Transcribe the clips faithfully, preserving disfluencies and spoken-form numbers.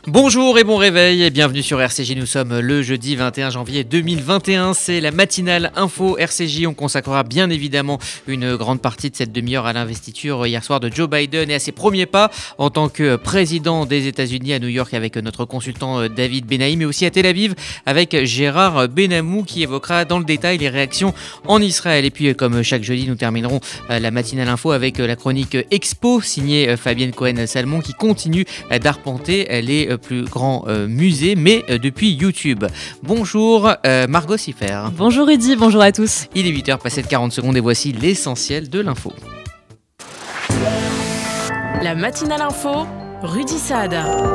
Bonjour et bon réveil et bienvenue sur R C J. Nous sommes le jeudi vingt et un janvier deux mille vingt et un. C'est la matinale info R C J. On consacrera bien évidemment une grande partie de cette demi-heure à l'investiture hier soir de Joe Biden et à ses premiers pas en tant que président des États-Unis à New York avec notre consultant David Benahi, mais aussi à Tel Aviv avec Gérard Benamou qui évoquera dans le détail les réactions en Israël. Et puis comme chaque jeudi, nous terminerons la matinale info avec la chronique Expo signée Fabienne Cohen-Salmon qui continue d'arpenter les plus grands euh, musées, mais euh, depuis YouTube. Bonjour euh, Margot Siffer. Bonjour Rudy, bonjour à tous. Il est huit heures passées de quarante secondes et voici l'essentiel de l'info. La matinale info, Rudy Saad.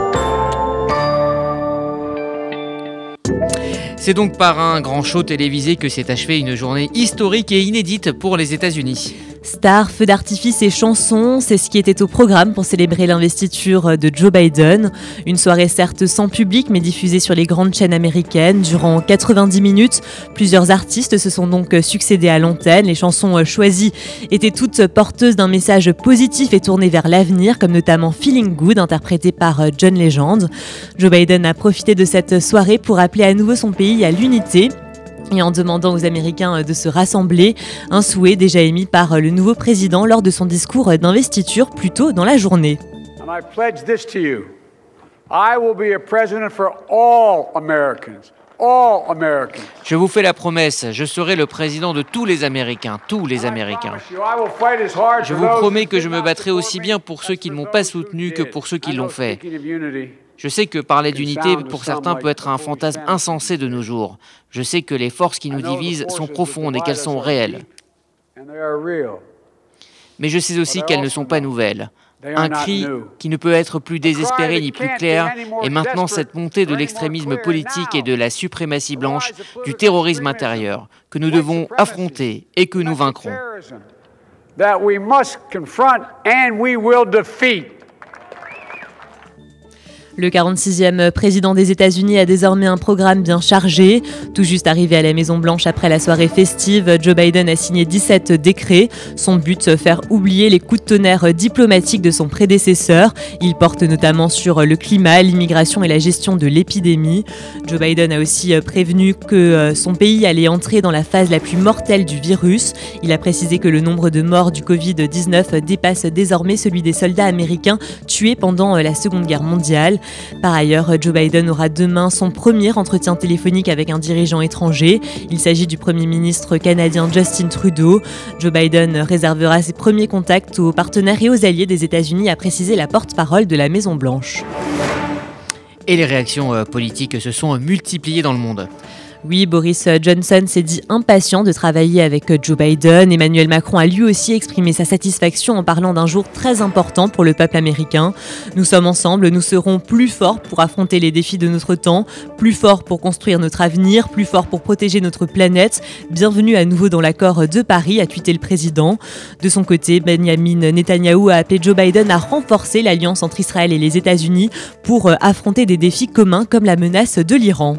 C'est donc par un grand show télévisé que s'est achevée une journée historique et inédite pour les États-Unis. Stars, feux d'artifice et chansons, c'est ce qui était au programme pour célébrer l'investiture de Joe Biden. Une soirée certes sans public mais diffusée sur les grandes chaînes américaines durant quatre-vingt-dix minutes. Plusieurs artistes se sont donc succédés à l'antenne. Les chansons choisies étaient toutes porteuses d'un message positif et tournées vers l'avenir, comme notamment Feeling Good, interprété par John Legend. Joe Biden a profité de cette soirée pour appeler à nouveau son pays à l'unité. Et en demandant aux Américains de se rassembler, un souhait déjà émis par le nouveau président lors de son discours d'investiture plus tôt dans la journée. And I pledge this to you. I will be a president for all Americans. All Americans. Je vous fais la promesse, je serai le président de tous les Américains, tous les Américains. Je vous promets que je me battrai aussi bien pour ceux qui ne m'ont pas soutenu que pour ceux qui l'ont fait. Je sais que parler d'unité, pour certains, peut être un fantasme insensé de nos jours. Je sais que les forces qui nous divisent sont profondes et qu'elles sont réelles. Mais je sais aussi qu'elles ne sont pas nouvelles. Un cri qui ne peut être plus désespéré ni plus clair est maintenant cette montée de l'extrémisme politique et de la suprématie blanche, du terrorisme intérieur, que nous devons affronter et que nous vaincrons. Le quarante-sixième président des États-Unis a désormais un programme bien chargé. Tout juste arrivé à la Maison-Blanche après la soirée festive, Joe Biden a signé dix-sept décrets. Son but, faire oublier les coups de tonnerre diplomatiques de son prédécesseur. Il porte notamment sur le climat, l'immigration et la gestion de l'épidémie. Joe Biden a aussi prévenu que son pays allait entrer dans la phase la plus mortelle du virus. Il a précisé que le nombre de morts du covid dix-neuf dépasse désormais celui des soldats américains tués pendant la Seconde Guerre mondiale. Par ailleurs, Joe Biden aura demain son premier entretien téléphonique avec un dirigeant étranger. Il s'agit du Premier ministre canadien Justin Trudeau. Joe Biden réservera ses premiers contacts aux partenaires et aux alliés des États-Unis, a précisé la porte-parole de la Maison-Blanche. Et les réactions politiques se sont multipliées dans le monde. Oui, Boris Johnson s'est dit impatient de travailler avec Joe Biden. Emmanuel Macron a lui aussi exprimé sa satisfaction en parlant d'un jour très important pour le peuple américain. Nous sommes ensemble, nous serons plus forts pour affronter les défis de notre temps, plus forts pour construire notre avenir, plus forts pour protéger notre planète. Bienvenue à nouveau dans l'accord de Paris, a tweeté le président. De son côté, Benjamin Netanyahou a appelé Joe Biden à renforcer l'alliance entre Israël et les États-Unis pour affronter des défis communs comme la menace de l'Iran.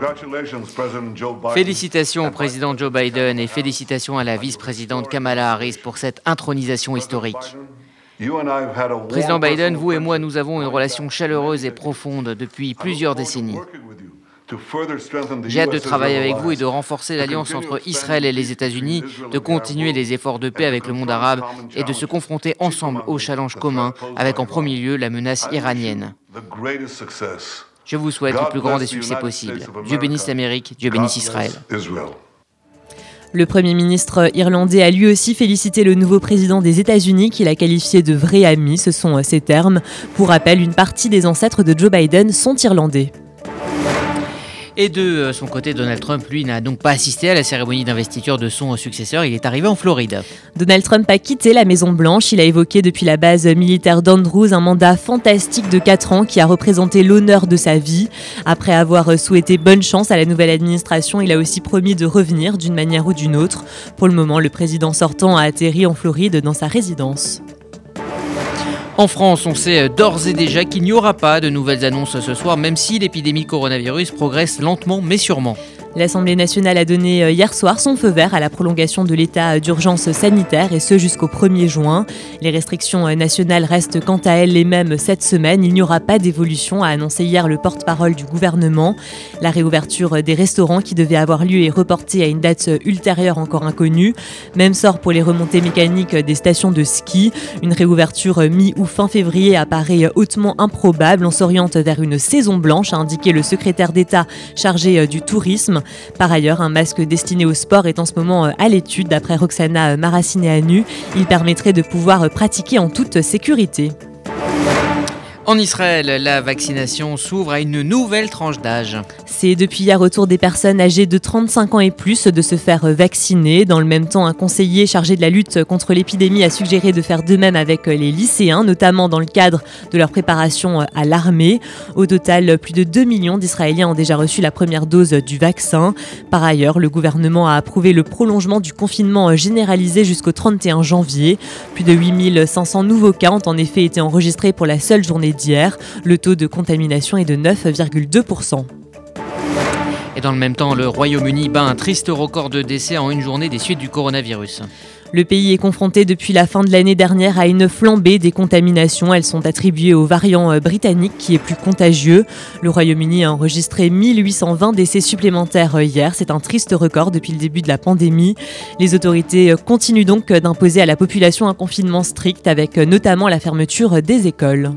Félicitations au président Joe Biden et félicitations à la vice-présidente Kamala Harris pour cette intronisation historique. Président Biden, vous et moi, nous avons une relation chaleureuse et profonde depuis plusieurs décennies. J'ai hâte de travailler avec vous et de renforcer l'alliance entre Israël et les États-Unis, de continuer les efforts de paix avec le monde arabe et de se confronter ensemble aux challenges communs avec en premier lieu la menace iranienne. Je vous souhaite le plus grand des succès possibles. Dieu bénisse l'Amérique, Dieu bénisse Israël. Le Premier ministre irlandais a lui aussi félicité le nouveau président des États-Unis qu'il a qualifié de vrai ami, ce sont ses termes. Pour rappel, une partie des ancêtres de Joe Biden sont irlandais. Et de son côté, Donald Trump, lui, n'a donc pas assisté à la cérémonie d'investiture de son successeur. Il est arrivé en Floride. Donald Trump a quitté la Maison-Blanche. Il a évoqué depuis la base militaire d'Andrews un mandat fantastique de quatre ans qui a représenté l'honneur de sa vie. Après avoir souhaité bonne chance à la nouvelle administration, il a aussi promis de revenir d'une manière ou d'une autre. Pour le moment, le président sortant a atterri en Floride dans sa résidence. En France, on sait d'ores et déjà qu'il n'y aura pas de nouvelles annonces ce soir, même si l'épidémie coronavirus progresse lentement mais sûrement. L'Assemblée nationale a donné hier soir son feu vert à la prolongation de l'état d'urgence sanitaire et ce jusqu'au premier juin. Les restrictions nationales restent quant à elles les mêmes cette semaine. Il n'y aura pas d'évolution, a annoncé hier le porte-parole du gouvernement. La réouverture des restaurants qui devait avoir lieu est reportée à une date ultérieure encore inconnue. Même sort pour les remontées mécaniques des stations de ski. Une réouverture mi- ou fin février apparaît hautement improbable. On s'oriente vers une saison blanche, a indiqué le secrétaire d'État chargé du tourisme. Par ailleurs, un masque destiné au sport est en ce moment à l'étude. D'après Roxana Maracineanu, il permettrait de pouvoir pratiquer en toute sécurité. En Israël, la vaccination s'ouvre à une nouvelle tranche d'âge. C'est depuis hier au tour des personnes âgées de trente-cinq ans et plus de se faire vacciner. Dans le même temps, un conseiller chargé de la lutte contre l'épidémie a suggéré de faire de même avec les lycéens, notamment dans le cadre de leur préparation à l'armée. Au total, plus de deux millions d'Israéliens ont déjà reçu la première dose du vaccin. Par ailleurs, le gouvernement a approuvé le prolongement du confinement généralisé jusqu'au trente et un janvier. Plus de huit mille cinq cents nouveaux cas ont en effet été enregistrés pour la seule journée d'hier. Le taux de contamination est de neuf virgule deux pour cent. Et dans le même temps, le Royaume-Uni bat un triste record de décès en une journée des suites du coronavirus. Le pays est confronté depuis la fin de l'année dernière à une flambée des contaminations. Elles sont attribuées au variant britannique qui est plus contagieux. Le Royaume-Uni a enregistré mille huit cent vingt décès supplémentaires hier. C'est un triste record depuis le début de la pandémie. Les autorités continuent donc d'imposer à la population un confinement strict avec notamment la fermeture des écoles.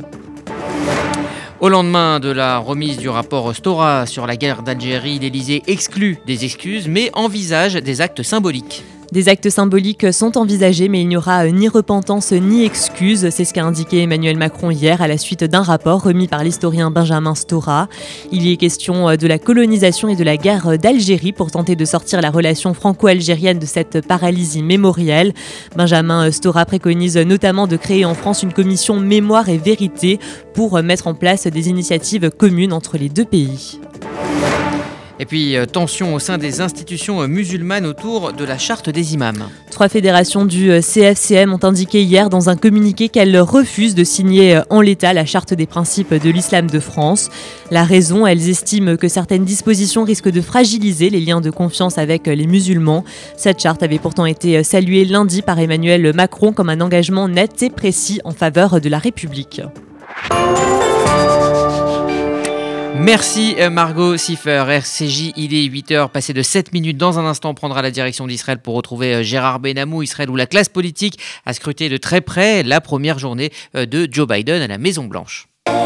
Au lendemain de la remise du rapport Stora sur la guerre d'Algérie, l'Élysée exclut des excuses mais envisage des actes symboliques. Des actes symboliques sont envisagés, mais il n'y aura ni repentance ni excuse. C'est ce qu'a indiqué Emmanuel Macron hier à la suite d'un rapport remis par l'historien Benjamin Stora. Il y est question de la colonisation et de la guerre d'Algérie pour tenter de sortir la relation franco-algérienne de cette paralysie mémorielle. Benjamin Stora préconise notamment de créer en France une commission mémoire et vérité pour mettre en place des initiatives communes entre les deux pays. Et puis, euh, tension au sein des institutions euh, musulmanes autour de la charte des imams. Trois fédérations du C F C M ont indiqué hier dans un communiqué qu'elles refusent de signer en l'état la charte des principes de l'islam de France. La raison, elles estiment que certaines dispositions risquent de fragiliser les liens de confiance avec les musulmans. Cette charte avait pourtant été saluée lundi par Emmanuel Macron comme un engagement net et précis en faveur de la République. Merci Margot Siffer, R C J, il est huit heures, passé de sept minutes. Dans un instant, on prendra la direction d'Israël pour retrouver Gérard Benamou, Israël où la classe politique a scruté de très près la première journée de Joe Biden à la Maison-Blanche.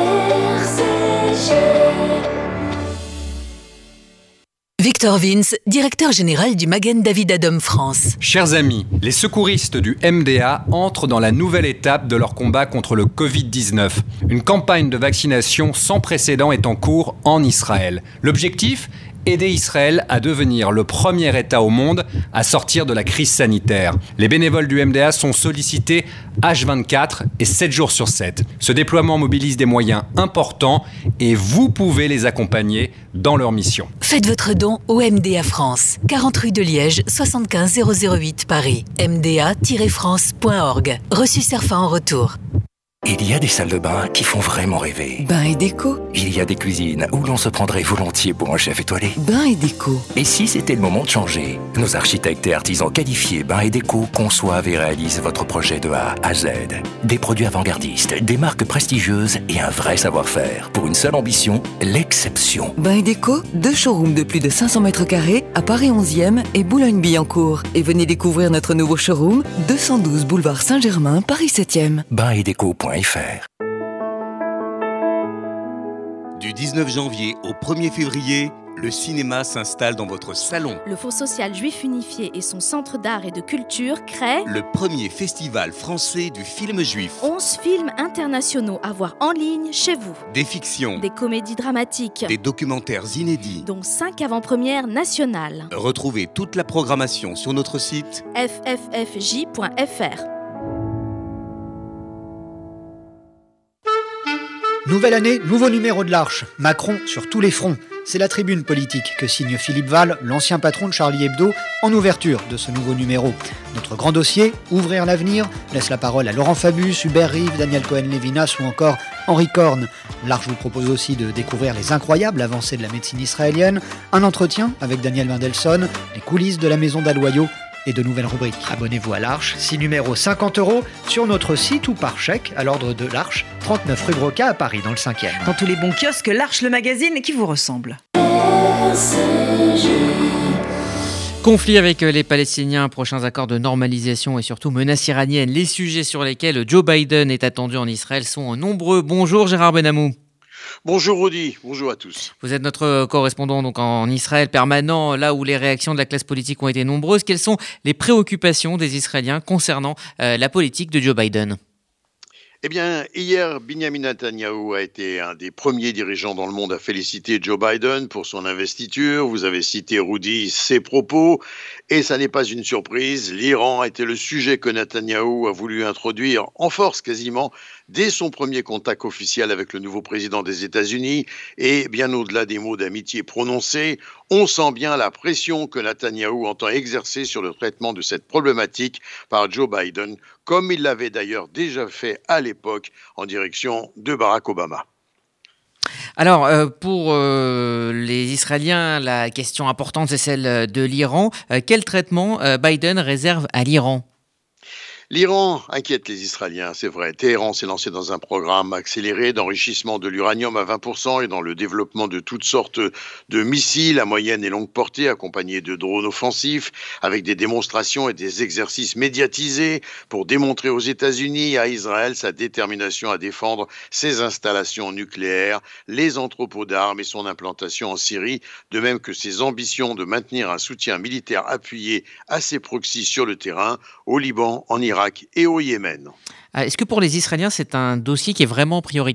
Victor Vince, directeur général du Magen David Adom France. Chers amis, les secouristes du M D A entrent dans la nouvelle étape de leur combat contre le covid dix-neuf. Une campagne de vaccination sans précédent est en cours en Israël. L'objectif ? Aider Israël à devenir le premier État au monde à sortir de la crise sanitaire. Les bénévoles du M D A sont sollicités H vingt-quatre et sept jours sur sept. Ce déploiement mobilise des moyens importants et vous pouvez les accompagner dans leur mission. Faites votre don au M D A France, quarante rue de Liège, soixante-quinze zéro zéro huit Paris, m d a tiret france point org. Reçu Cerfa en retour. Il y a des salles de bain qui font vraiment rêver. Bain et déco. Il y a des cuisines où l'on se prendrait volontiers pour un chef étoilé. Bain et déco. Et si c'était le moment de changer ? Nos architectes et artisans qualifiés Bain et déco conçoivent et réalisent votre projet de A à Z. Des produits avant-gardistes, des marques prestigieuses et un vrai savoir-faire. Pour une seule ambition, l'exception. Bain et déco, deux showrooms de plus de cinq cents mètres carrés à Paris onzième et Boulogne-Billancourt. Et venez découvrir notre nouveau showroom, deux cent douze boulevard Saint-Germain, Paris septième. bain et déco point f r. Du dix-neuf janvier au premier février, le cinéma s'installe dans votre salon. Le Fonds social juif unifié et son centre d'art et de culture créent le premier festival français du film juif. onze films internationaux à voir en ligne chez vous. Des fictions, des comédies dramatiques, des documentaires inédits, dont cinq avant-premières nationales. Retrouvez toute la programmation sur notre site f f f j point f r. Nouvelle année, nouveau numéro de l'Arche. Macron sur tous les fronts. C'est la tribune politique que signe Philippe Val, l'ancien patron de Charlie Hebdo, en ouverture de ce nouveau numéro. Notre grand dossier, Ouvrir l'avenir, laisse la parole à Laurent Fabius, Hubert Reeve, Daniel Cohen-Levinas ou encore Henri Korn. L'Arche vous propose aussi de découvrir les incroyables avancées de la médecine israélienne, un entretien avec Daniel Mendelsohn, les coulisses de la maison d'Aloyau et de nouvelles rubriques. Abonnez-vous à l'Arche, six numéros cinquante euros, sur notre site ou par chèque à l'ordre de l'Arche, trente-neuf rue Broca à Paris, dans le cinquième. Dans tous les bons kiosques, l'Arche, le magazine qui vous ressemble. Conflit avec les Palestiniens, prochains accords de normalisation et surtout menaces iraniennes. Les sujets sur lesquels Joe Biden est attendu en Israël sont nombreux. Bonjour Gérard Benamou. Bonjour Rudy, bonjour à tous. Vous êtes notre correspondant donc en Israël permanent, là où les réactions de la classe politique ont été nombreuses. Quelles sont les préoccupations des Israéliens concernant euh, la politique de Joe Biden ? Eh bien, hier, Benjamin Netanyahou a été un des premiers dirigeants dans le monde à féliciter Joe Biden pour son investiture. Vous avez cité, Rudy, ses propos. Et ça n'est pas une surprise. L'Iran a été le sujet que Netanyahou a voulu introduire en force quasiment dès son premier contact officiel avec le nouveau président des États-Unis. Et bien au-delà des mots d'amitié prononcés, on sent bien la pression que Netanyahou entend exercer sur le traitement de cette problématique par Joe Biden, comme il l'avait d'ailleurs déjà fait à l'époque en direction de Barack Obama. Alors, euh, pour euh, les Israéliens, la question importante, c'est celle de l'Iran. Euh, quel traitement euh, Biden réserve à l'Iran ? L'Iran inquiète les Israéliens, c'est vrai. Téhéran s'est lancé dans un programme accéléré d'enrichissement de l'uranium à vingt pour cent et dans le développement de toutes sortes de missiles à moyenne et longue portée, accompagnés de drones offensifs, avec des démonstrations et des exercices médiatisés pour démontrer aux États-Unis et à Israël sa détermination à défendre ses installations nucléaires, les entrepôts d'armes et son implantation en Syrie, de même que ses ambitions de maintenir un soutien militaire appuyé à ses proxys sur le terrain, au Liban, en Irak et au Yémen. Est-ce que pour les Israéliens, c'est un dossier qui est vraiment prioritaire ?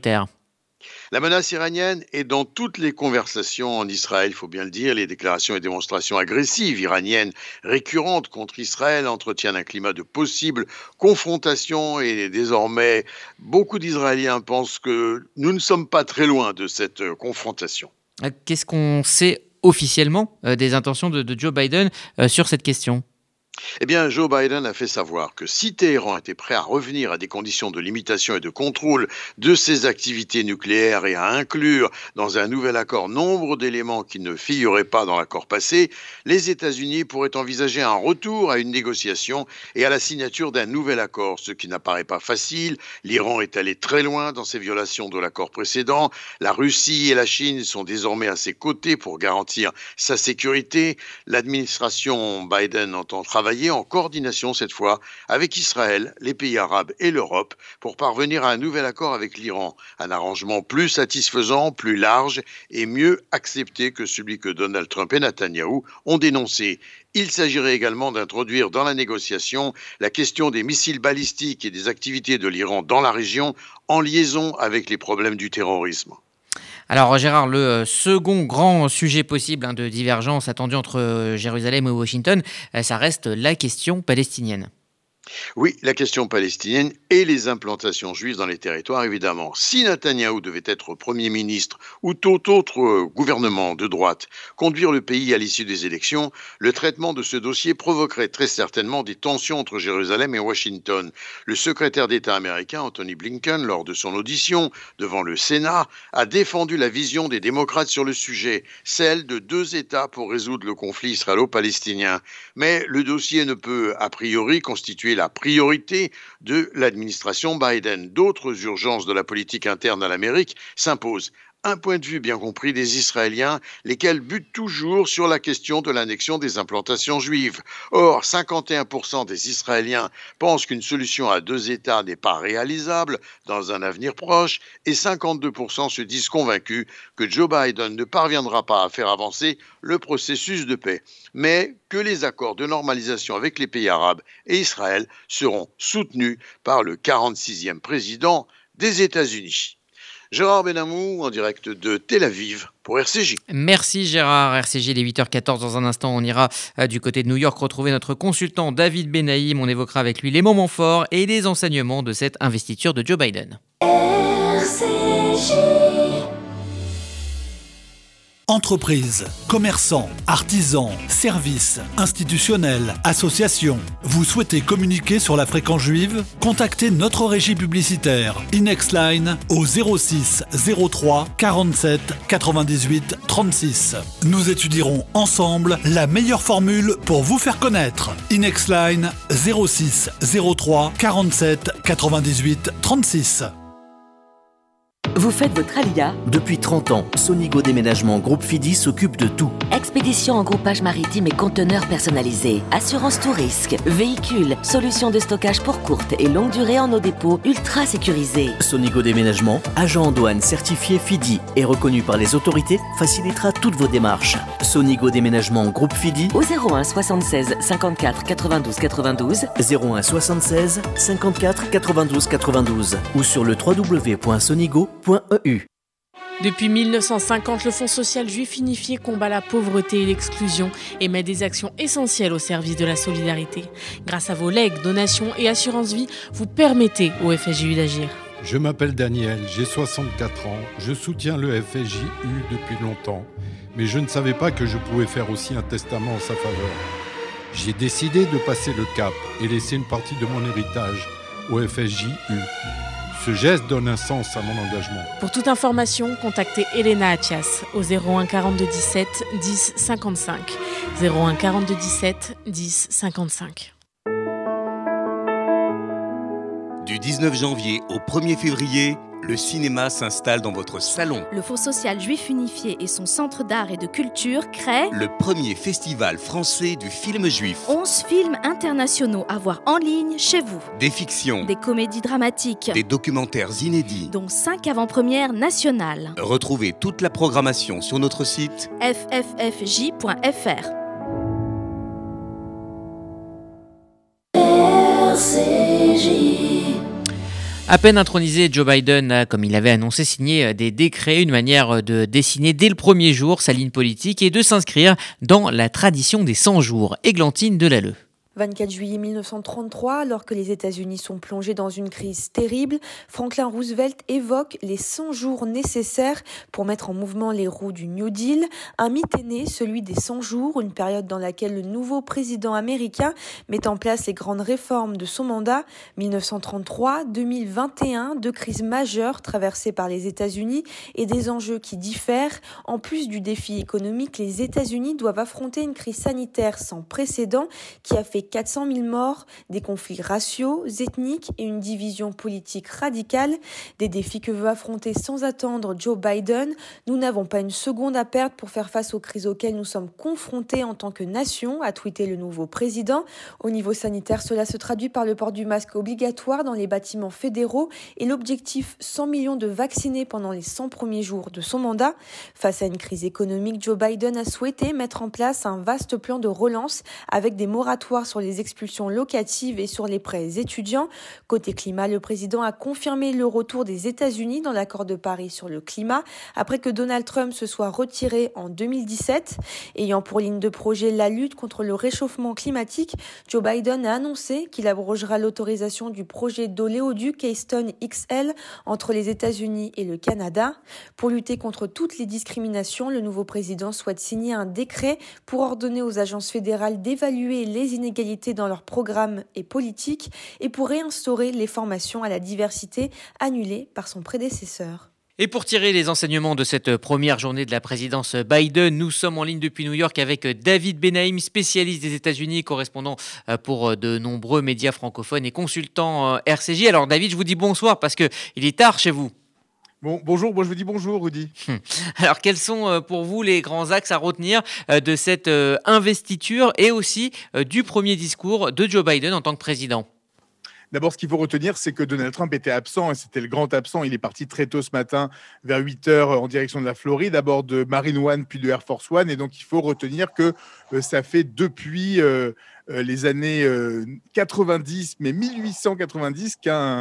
La menace iranienne est dans toutes les conversations en Israël, il faut bien le dire. Les déclarations et démonstrations agressives iraniennes récurrentes contre Israël entretiennent un climat de possible confrontation et désormais, beaucoup d'Israéliens pensent que nous ne sommes pas très loin de cette confrontation. Qu'est-ce qu'on sait officiellement euh, des intentions de, de Joe Biden euh, sur cette question ? Eh bien, Joe Biden a fait savoir que si Téhéran était prêt à revenir à des conditions de limitation et de contrôle de ses activités nucléaires et à inclure dans un nouvel accord nombre d'éléments qui ne figuraient pas dans l'accord passé, les États-Unis pourraient envisager un retour à une négociation et à la signature d'un nouvel accord, ce qui n'apparaît pas facile. L'Iran est allé très loin dans ses violations de l'accord précédent. La Russie et la Chine sont désormais à ses côtés pour garantir sa sécurité. L'administration Biden entend travailler en coordination cette fois avec Israël, les pays arabes et l'Europe pour parvenir à un nouvel accord avec l'Iran. Un arrangement plus satisfaisant, plus large et mieux accepté que celui que Donald Trump et Netanyahou ont dénoncé. Il s'agirait également d'introduire dans la négociation la question des missiles balistiques et des activités de l'Iran dans la région en liaison avec les problèmes du terrorisme. Alors Gérard, le second grand sujet possible hein, de divergence attendu entre Jérusalem et Washington, ça reste la question palestinienne. Oui, la question palestinienne et les implantations juives dans les territoires, évidemment. Si Netanyahou devait être Premier ministre ou tout autre gouvernement de droite conduire le pays à l'issue des élections, le traitement de ce dossier provoquerait très certainement des tensions entre Jérusalem et Washington. Le secrétaire d'État américain, Anthony Blinken, lors de son audition devant le Sénat, a défendu la vision des démocrates sur le sujet, celle de deux États pour résoudre le conflit israélo-palestinien. Mais le dossier ne peut, a priori, constituer la priorité de l'administration Biden. D'autres urgences de la politique interne à l'Amérique s'imposent. Un point de vue bien compris des Israéliens, lesquels butent toujours sur la question de l'annexion des implantations juives. Or, cinquante et un pour cent des Israéliens pensent qu'une solution à deux États n'est pas réalisable dans un avenir proche et cinquante-deux pour cent se disent convaincus que Joe Biden ne parviendra pas à faire avancer le processus de paix, mais que les accords de normalisation avec les pays arabes et Israël seront soutenus par le quarante-sixième président des États-Unis. Gérard Benamou, en direct de Tel Aviv pour R C J. Merci Gérard. R C J, il est huit heures quatorze. Dans un instant, on ira euh, du côté de New York retrouver notre consultant David Benaïm. On évoquera avec lui les moments forts et les enseignements de cette investiture de Joe Biden. R C J. Entreprises, commerçants, artisans, services, institutionnels, associations. Vous souhaitez communiquer sur la fréquence juive ? Contactez notre régie publicitaire Inexline au zéro six zéro trois quarante-sept quatre-vingt-dix-huit trente-six. Nous étudierons ensemble la meilleure formule pour vous faire connaître. Inexline zéro six zéro trois quarante-sept quatre-vingt-dix-huit trente-six. Vous faites votre Alia ? Depuis trente ans, Sonigo Déménagement Groupe Fidi s'occupe de tout. Expédition en groupage maritime et conteneurs personnalisés. Assurance tout risque. Véhicules. Solutions de stockage pour courte et longue durée en nos dépôts ultra sécurisés. Sonigo Déménagement, agent en douane certifié Fidi et reconnu par les autorités, facilitera toutes vos démarches. Sonigo Déménagement Groupe Fidi au zéro un soixante-seize cinquante-quatre quatre-vingt-douze quatre-vingt-douze. zéro un soixante-seize cinquante-quatre quatre-vingt-douze quatre-vingt-douze ou sur le w w w point sonigo point e u. Depuis mille neuf cent cinquante, le Fonds social juif unifié combat la pauvreté et l'exclusion et met des actions essentielles au service de la solidarité. Grâce à vos legs, donations et assurances vie, vous permettez au F S J U d'agir. Je m'appelle Daniel, j'ai soixante-quatre ans, je soutiens le F S J U depuis longtemps, mais je ne savais pas que je pouvais faire aussi un testament en sa faveur. J'ai décidé de passer le cap et laisser une partie de mon héritage au F S J U. Ce geste donne un sens à mon engagement. Pour toute information, contactez Elena Athias au zéro un quarante-deux dix-sept dix cinquante-cinq. zéro un quarante-deux dix-sept dix cinquante-cinq. Du dix-neuf janvier au premier février, le cinéma s'installe dans votre salon. Le Fonds social juif unifié et son centre d'art et de culture créent le premier festival français du film juif. onze films internationaux à voir en ligne chez vous. Des fictions, des comédies dramatiques, des documentaires inédits, dont cinq avant-premières nationales. Retrouvez toute la programmation sur notre site f f f j point f r. R C J. À peine intronisé, Joe Biden a, comme il avait annoncé, signé des décrets, une manière de dessiner dès le premier jour sa ligne politique et de s'inscrire dans la tradition des cent jours. Églantine Delalleux. vingt-quatre juillet mille neuf cent trente-trois, alors que les États-Unis sont plongés dans une crise terrible, Franklin Roosevelt évoque les cent jours nécessaires pour mettre en mouvement les roues du New Deal. Un mythe est né, celui des cent jours, une période dans laquelle le nouveau président américain met en place les grandes réformes de son mandat. mille neuf cent trente-trois à deux mille vingt et un, deux crises majeures traversées par les États-Unis et des enjeux qui diffèrent. En plus du défi économique, les États-Unis doivent affronter une crise sanitaire sans précédent qui a fait quatre cent mille morts, des conflits raciaux, ethniques et une division politique radicale, des défis que veut affronter sans attendre Joe Biden. Nous n'avons pas une seconde à perdre pour faire face aux crises auxquelles nous sommes confrontés en tant que nation, a tweeté le nouveau président. Au niveau sanitaire, cela se traduit par le port du masque obligatoire dans les bâtiments fédéraux et l'objectif cent millions de vaccinés pendant les cent premiers jours de son mandat. Face à une crise économique, Joe Biden a souhaité mettre en place un vaste plan de relance avec des moratoires sur les expulsions locatives et sur les prêts étudiants. Côté climat, le président a confirmé le retour des États-Unis dans l'accord de Paris sur le climat après que Donald Trump se soit retiré en deux mille dix-sept. Ayant pour ligne de projet la lutte contre le réchauffement climatique, Joe Biden a annoncé qu'il abrogera l'autorisation du projet d'oléoduc Keystone X L entre les États-Unis et le Canada. Pour lutter contre toutes les discriminations, le nouveau président souhaite signer un décret pour ordonner aux agences fédérales d'évaluer les inégalités dans leurs programmes et politiques et pour réinstaurer les formations à la diversité annulées par son prédécesseur. Et pour tirer les enseignements de cette première journée de la présidence Biden, nous sommes en ligne depuis New York avec David Benaïm, spécialiste des États-Unis, correspondant pour de nombreux médias francophones et consultant R C J. Alors David, je vous dis bonsoir parce qu'il est tard chez vous. Bon, bonjour, moi je vous dis bonjour Rudy. Alors quels sont pour vous les grands axes à retenir de cette investiture et aussi du premier discours de Joe Biden en tant que président ? D'abord, ce qu'il faut retenir, c'est que Donald Trump était absent et c'était le grand absent. Il est parti très tôt ce matin, vers huit heures, en direction de la Floride, d'abord de Marine One, puis de Air Force One. Et donc, il faut retenir que euh, ça fait depuis euh, euh, les années euh, quatre-vingt-dix, mais mille huit cent quatre-vingt-dix, qu'un,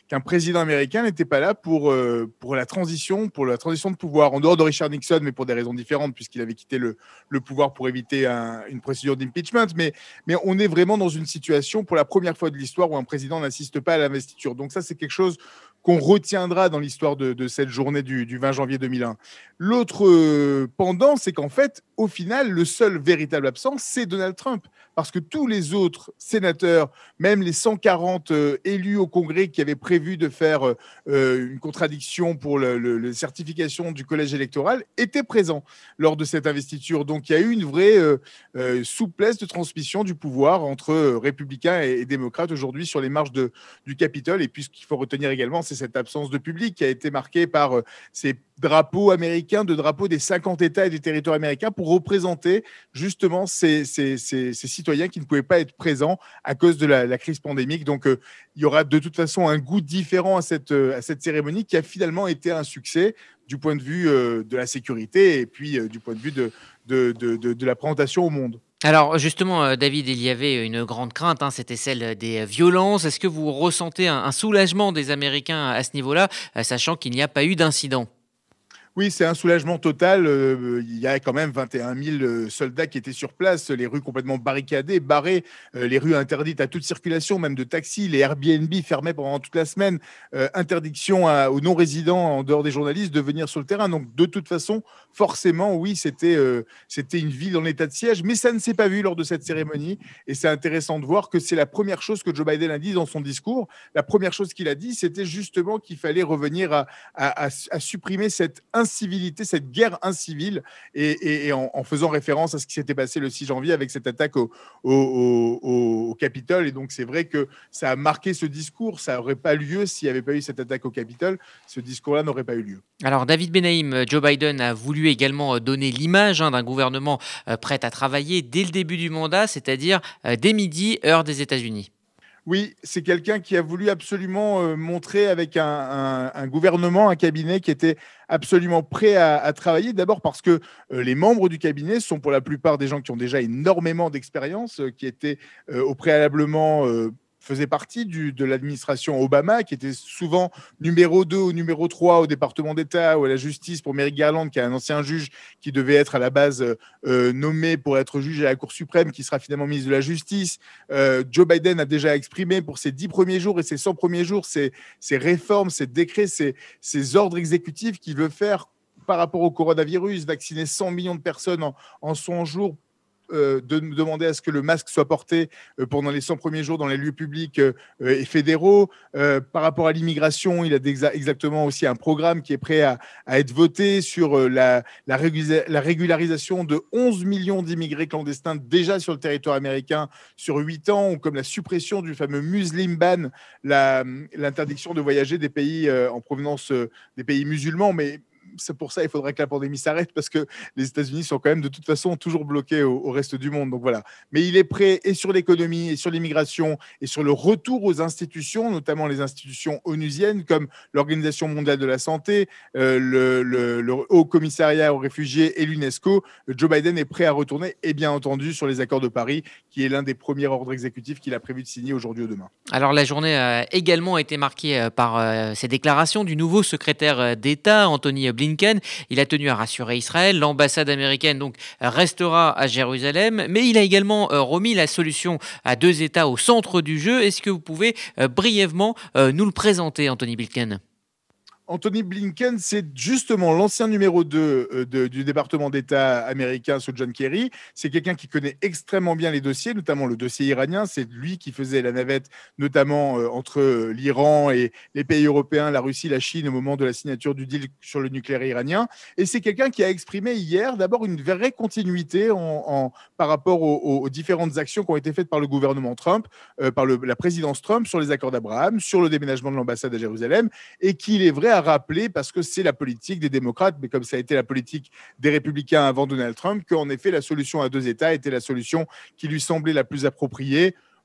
qu'un président américain n'était pas là pour, euh, pour la transition, pour la transition de pouvoir, en dehors de Richard Nixon, mais pour des raisons différentes, puisqu'il avait quitté le, le pouvoir pour éviter un, une procédure d'impeachment. Mais, mais on est vraiment dans une situation, pour la première fois de l'histoire, où un président n'assiste pas à l'investiture. Donc ça, c'est quelque chose qu'on retiendra dans l'histoire de, de cette journée du, du vingt janvier deux mille un. L'autre euh, pendant, c'est qu'en fait, au final, le seul véritable absent, c'est Donald Trump. Parce que tous les autres sénateurs, même les cent quarante euh, élus au Congrès qui avaient prévu de faire euh, une contradiction pour le, le, la certification du collège électoral, étaient présents lors de cette investiture. Donc il y a eu une vraie euh, euh, souplesse de transmission du pouvoir entre euh, républicains et, et démocrates aujourd'hui sur les marches de, du Capitole. Et puis ce qu'il faut retenir également, c'est cette absence de public qui a été marquée par euh, ces drapeaux américains, de drapeaux des cinquante États et des territoires américains pour représenter justement ces, ces, ces, ces citoyens qui ne pouvaient pas être présents à cause de la, la crise pandémique. Donc, euh, il y aura de toute façon un goût différent à cette, euh, à cette cérémonie qui a finalement été un succès du point de vue euh, de la sécurité et puis euh, du point de vue de, de, de, de, de la présentation au monde. Alors justement, David, il y avait une grande crainte, hein, c'était celle des violences. Est-ce que vous ressentez un, un soulagement des Américains à ce niveau-là, sachant qu'il n'y a pas eu d'incident ? Oui, c'est un soulagement total. Euh, il y a quand même vingt et un mille soldats qui étaient sur place, les rues complètement barricadées, barrées, euh, les rues interdites à toute circulation, même de taxis, les Airbnb fermés pendant toute la semaine, euh, interdiction à, aux non-résidents en dehors des journalistes de venir sur le terrain. Donc, de toute façon, forcément, oui, c'était, euh, c'était une ville en état de siège, mais ça ne s'est pas vu lors de cette cérémonie. Et c'est intéressant de voir que c'est la première chose que Joe Biden a dit dans son discours. La première chose qu'il a dit, c'était justement qu'il fallait revenir à, à, à, à supprimer cette incivilité, cette guerre incivile, et, et, et en, en faisant référence à ce qui s'était passé le six janvier avec cette attaque au, au, au, au Capitole. Et donc, c'est vrai que ça a marqué ce discours. Ça n'aurait pas lieu s'il n'y avait pas eu cette attaque au Capitole. Ce discours-là n'aurait pas eu lieu. Alors, David Benaïm, Joe Biden a voulu également donner l'image hein, d'un gouvernement euh, prêt à travailler dès le début du mandat, c'est-à-dire euh, dès midi, heure des États-Unis. Oui, c'est quelqu'un qui a voulu absolument euh, montrer avec un, un, un gouvernement, un cabinet qui était absolument prêt à, à travailler. D'abord parce que euh, les membres du cabinet sont pour la plupart des gens qui ont déjà énormément d'expérience, euh, qui étaient euh, au préalablement... Euh, faisait partie du, de l'administration Obama, qui était souvent numéro deux ou numéro trois au département d'État ou à la justice pour Merrick Garland, qui est un ancien juge qui devait être à la base euh, nommé pour être juge à la Cour suprême, qui sera finalement ministre de la Justice. Euh, Joe Biden a déjà exprimé pour ses dix premiers jours et ses cent premiers jours ses, ses réformes, ses décrets, ses, ses ordres exécutifs qu'il veut faire par rapport au coronavirus, vacciner cent millions de personnes en, en cent jours, Euh, de demander à ce que le masque soit porté euh, pendant les cent premiers jours dans les lieux publics euh, et fédéraux. Euh, par rapport à l'immigration, il a exa- exactement aussi un programme qui est prêt à, à être voté sur euh, la, la, régula- la régularisation de onze millions d'immigrés clandestins déjà sur le territoire américain sur huit ans, ou comme la suppression du fameux Muslim ban, la, l'interdiction de voyager des pays euh, en provenance euh, des pays musulmans. Mais c'est pour ça il faudrait que la pandémie s'arrête, parce que les États-Unis sont quand même de toute façon toujours bloqués au, au reste du monde. Donc voilà. Mais il est prêt et sur l'économie, et sur l'immigration, et sur le retour aux institutions, notamment les institutions onusiennes comme l'Organisation mondiale de la santé, euh, le, le, le Haut Commissariat aux réfugiés et l'UNESCO. Joe Biden est prêt à retourner, et bien entendu sur les accords de Paris, qui est l'un des premiers ordres exécutifs qu'il a prévu de signer aujourd'hui ou demain. Alors la journée a également été marquée par euh, ces déclarations du nouveau secrétaire d'État, Anthony Blinken. Il a tenu à rassurer Israël. L'ambassade américaine donc restera à Jérusalem, mais il a également euh, remis la solution à deux États au centre du jeu. Est-ce que vous pouvez euh, brièvement euh, nous le présenter, Anthony Blinken ? Anthony Blinken, c'est justement l'ancien numéro deux euh, de, du département d'État américain sous John Kerry. C'est quelqu'un qui connaît extrêmement bien les dossiers, notamment le dossier iranien. C'est lui qui faisait la navette, notamment euh, entre euh, l'Iran et les pays européens, la Russie, la Chine, au moment de la signature du deal sur le nucléaire iranien. Et c'est quelqu'un qui a exprimé hier d'abord une vraie continuité en, en, par rapport aux, aux différentes actions qui ont été faites par le gouvernement Trump, euh, par le, la présidence Trump sur les accords d'Abraham, sur le déménagement de l'ambassade à Jérusalem, et qu'il est vrai à rappeler, parce que c'est la politique des démocrates, mais comme ça a été la politique des républicains avant Donald Trump, qu'en effet la solution à deux États était la solution qui lui semblait la plus appropriée.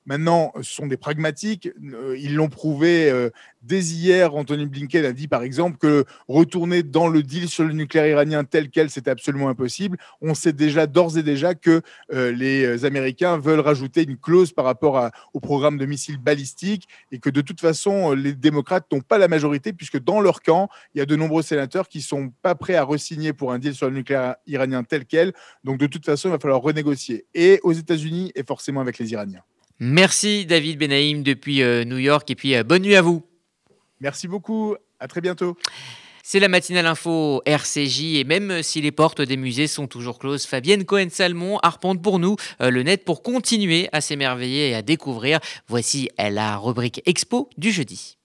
Maintenant, ce sont des pragmatiques. Ils l'ont prouvé euh, dès hier. Anthony Blinken a dit, par exemple, que retourner dans le deal sur le nucléaire iranien tel quel, c'était absolument impossible. On sait déjà, d'ores et déjà, que euh, les Américains veulent rajouter une clause par rapport à, au programme de missiles balistiques et que de toute façon, les démocrates n'ont pas la majorité puisque dans leur camp, il y a de nombreux sénateurs qui ne sont pas prêts à re-signer pour un deal sur le nucléaire iranien tel quel. Donc, de toute façon, il va falloir renégocier. Et aux États-Unis et forcément avec les Iraniens. Merci David Benaïm depuis euh, New York et puis euh, bonne nuit à vous. Merci beaucoup, à très bientôt. C'est la matinale info R C J et même si les portes des musées sont toujours closes, Fabienne Cohen-Salmon arpente pour nous euh, le net pour continuer à s'émerveiller et à découvrir. Voici la rubrique Expo du jeudi.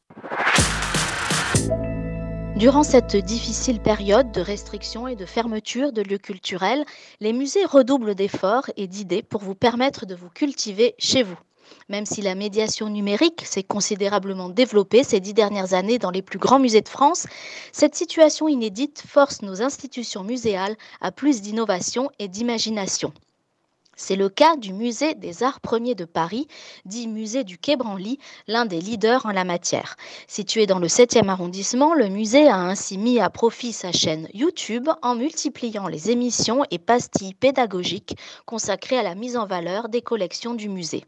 Durant cette difficile période de restriction et de fermeture de lieux culturels, les musées redoublent d'efforts et d'idées pour vous permettre de vous cultiver chez vous. Même si la médiation numérique s'est considérablement développée ces dix dernières années dans les plus grands musées de France, cette situation inédite force nos institutions muséales à plus d'innovation et d'imagination. C'est le cas du musée des Arts Premiers de Paris, dit musée du Quai Branly, l'un des leaders en la matière. Situé dans le septième arrondissement, le musée a ainsi mis à profit sa chaîne YouTube en multipliant les émissions et pastilles pédagogiques consacrées à la mise en valeur des collections du musée.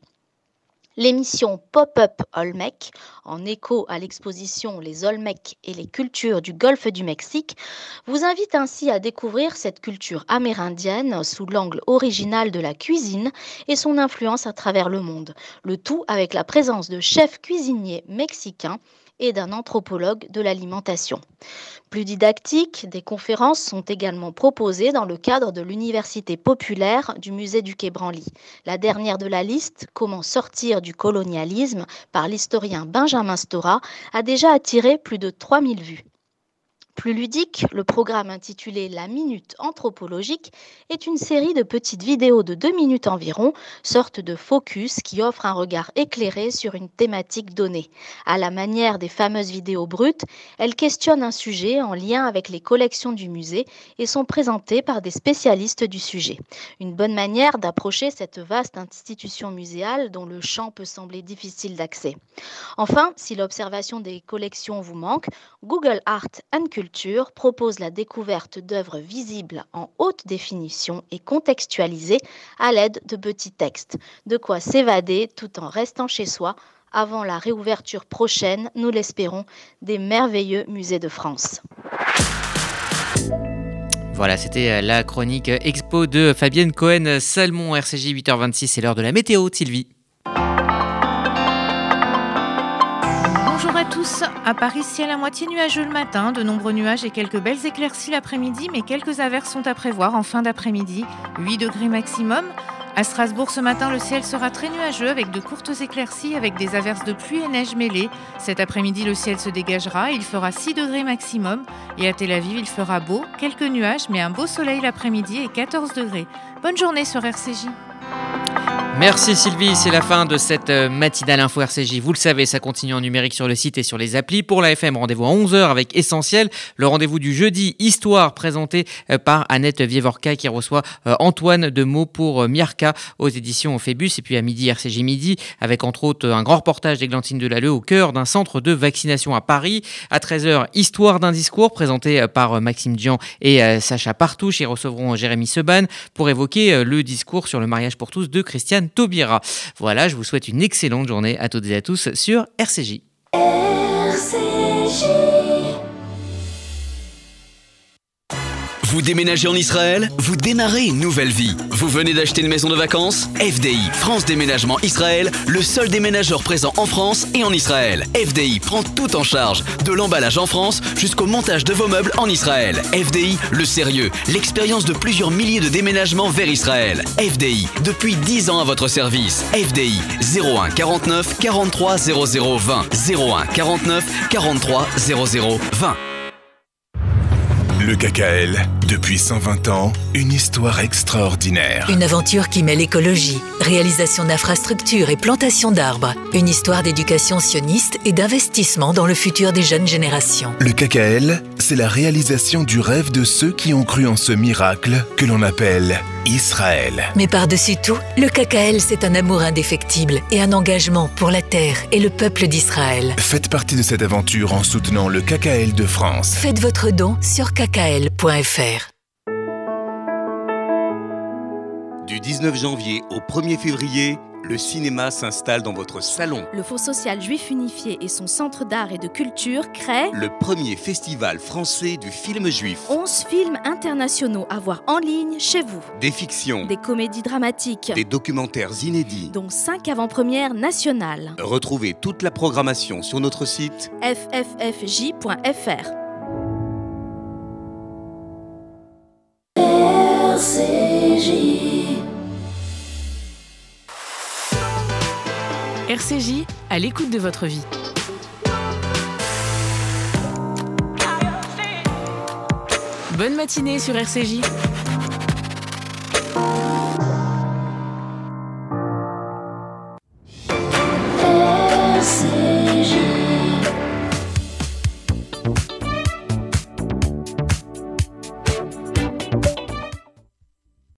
L'émission Pop-up Olmec, en écho à l'exposition Les Olmecs et les cultures du Golfe du Mexique, vous invite ainsi à découvrir cette culture amérindienne sous l'angle original de la cuisine et son influence à travers le monde. Le tout avec la présence de chefs cuisiniers mexicains et d'un anthropologue de l'alimentation. Plus didactiques, des conférences sont également proposées dans le cadre de l'Université populaire du musée du Quai Branly. La dernière de la liste, Comment sortir du colonialisme, par l'historien Benjamin Stora, a déjà attiré plus de trois mille vues. Plus ludique, le programme intitulé La Minute Anthropologique est une série de petites vidéos de deux minutes environ, sorte de focus qui offre un regard éclairé sur une thématique donnée. À la manière des fameuses vidéos brutes, elles questionnent un sujet en lien avec les collections du musée et sont présentées par des spécialistes du sujet. Une bonne manière d'approcher cette vaste institution muséale dont le champ peut sembler difficile d'accès. Enfin, si l'observation des collections vous manque, Google Art and Culture propose la découverte d'œuvres visibles en haute définition et contextualisées à l'aide de petits textes. De quoi s'évader tout en restant chez soi avant la réouverture prochaine, nous l'espérons, des merveilleux musées de France. Voilà, c'était la chronique Expo de Fabienne Cohen-Salmon, R C J huit heures vingt-six, c'est l'heure de la météo, Sylvie. Bonjour à tous. À Paris, ciel à moitié nuageux le matin, de nombreux nuages et quelques belles éclaircies l'après-midi, mais quelques averses sont à prévoir en fin d'après-midi, huit degrés maximum. À Strasbourg, ce matin, le ciel sera très nuageux avec de courtes éclaircies avec des averses de pluie et neige mêlées. Cet après-midi, le ciel se dégagera, il fera six degrés maximum. Et à Tel Aviv, il fera beau, quelques nuages, mais un beau soleil l'après-midi et quatorze degrés. Bonne journée sur R C J. Merci Sylvie, c'est la fin de cette matinale info R C J. Vous le savez, ça continue en numérique sur le site et sur les applis. Pour la F M, rendez-vous à onze heures avec Essentiel. Le rendez-vous du jeudi, Histoire, présenté par Annette Vievorka qui reçoit Antoine Demeaux pour Miarca aux éditions Phébus. Et puis à midi, R C J Midi, avec entre autres un grand reportage d'Églantine Delalleux au cœur d'un centre de vaccination à Paris. À treize heures, Histoire d'un discours, présenté par Maxime Dian et Sacha Partouche. Ils recevront Jérémy Seban pour évoquer le discours sur le mariage pour tous de Christiane Taubira. Voilà, je vous souhaite une excellente journée à toutes et à tous sur R C J. R C J. Vous déménagez en Israël? Vous démarrez une nouvelle vie. Vous venez d'acheter une maison de vacances? F D I, France Déménagement Israël, le seul déménageur présent en France et en Israël. F D I prend tout en charge, de l'emballage en France jusqu'au montage de vos meubles en Israël. F D I, le sérieux, l'expérience de plusieurs milliers de déménagements vers Israël. F D I, depuis dix ans à votre service. F D I, zéro un quarante-neuf quarante-trois zéro zéro vingt. zéro un quarante-neuf quarante-trois zéro zéro vingt. Le K K L, depuis cent vingt ans, une histoire extraordinaire. Une aventure qui mêle écologie, réalisation d'infrastructures et plantation d'arbres. Une histoire d'éducation sioniste et d'investissement dans le futur des jeunes générations. Le K K L, c'est c'est la réalisation du rêve de ceux qui ont cru en ce miracle que l'on appelle Israël. Mais par-dessus tout, le K K L, c'est un amour indéfectible et un engagement pour la terre et le peuple d'Israël. Faites partie de cette aventure en soutenant le K K L de France. Faites votre don sur k k l point f r. Du dix-neuf janvier au premier février, le cinéma s'installe dans votre salon. Le Fonds social juif unifié et son centre d'art et de culture créent le premier festival français du film juif. onze films internationaux à voir en ligne chez vous. Des fictions, des comédies dramatiques, des documentaires inédits, dont cinq avant-premières nationales. Retrouvez toute la programmation sur notre site f f f j point f r. R C J R C J, à l'écoute de votre vie. Bonne matinée sur R C J.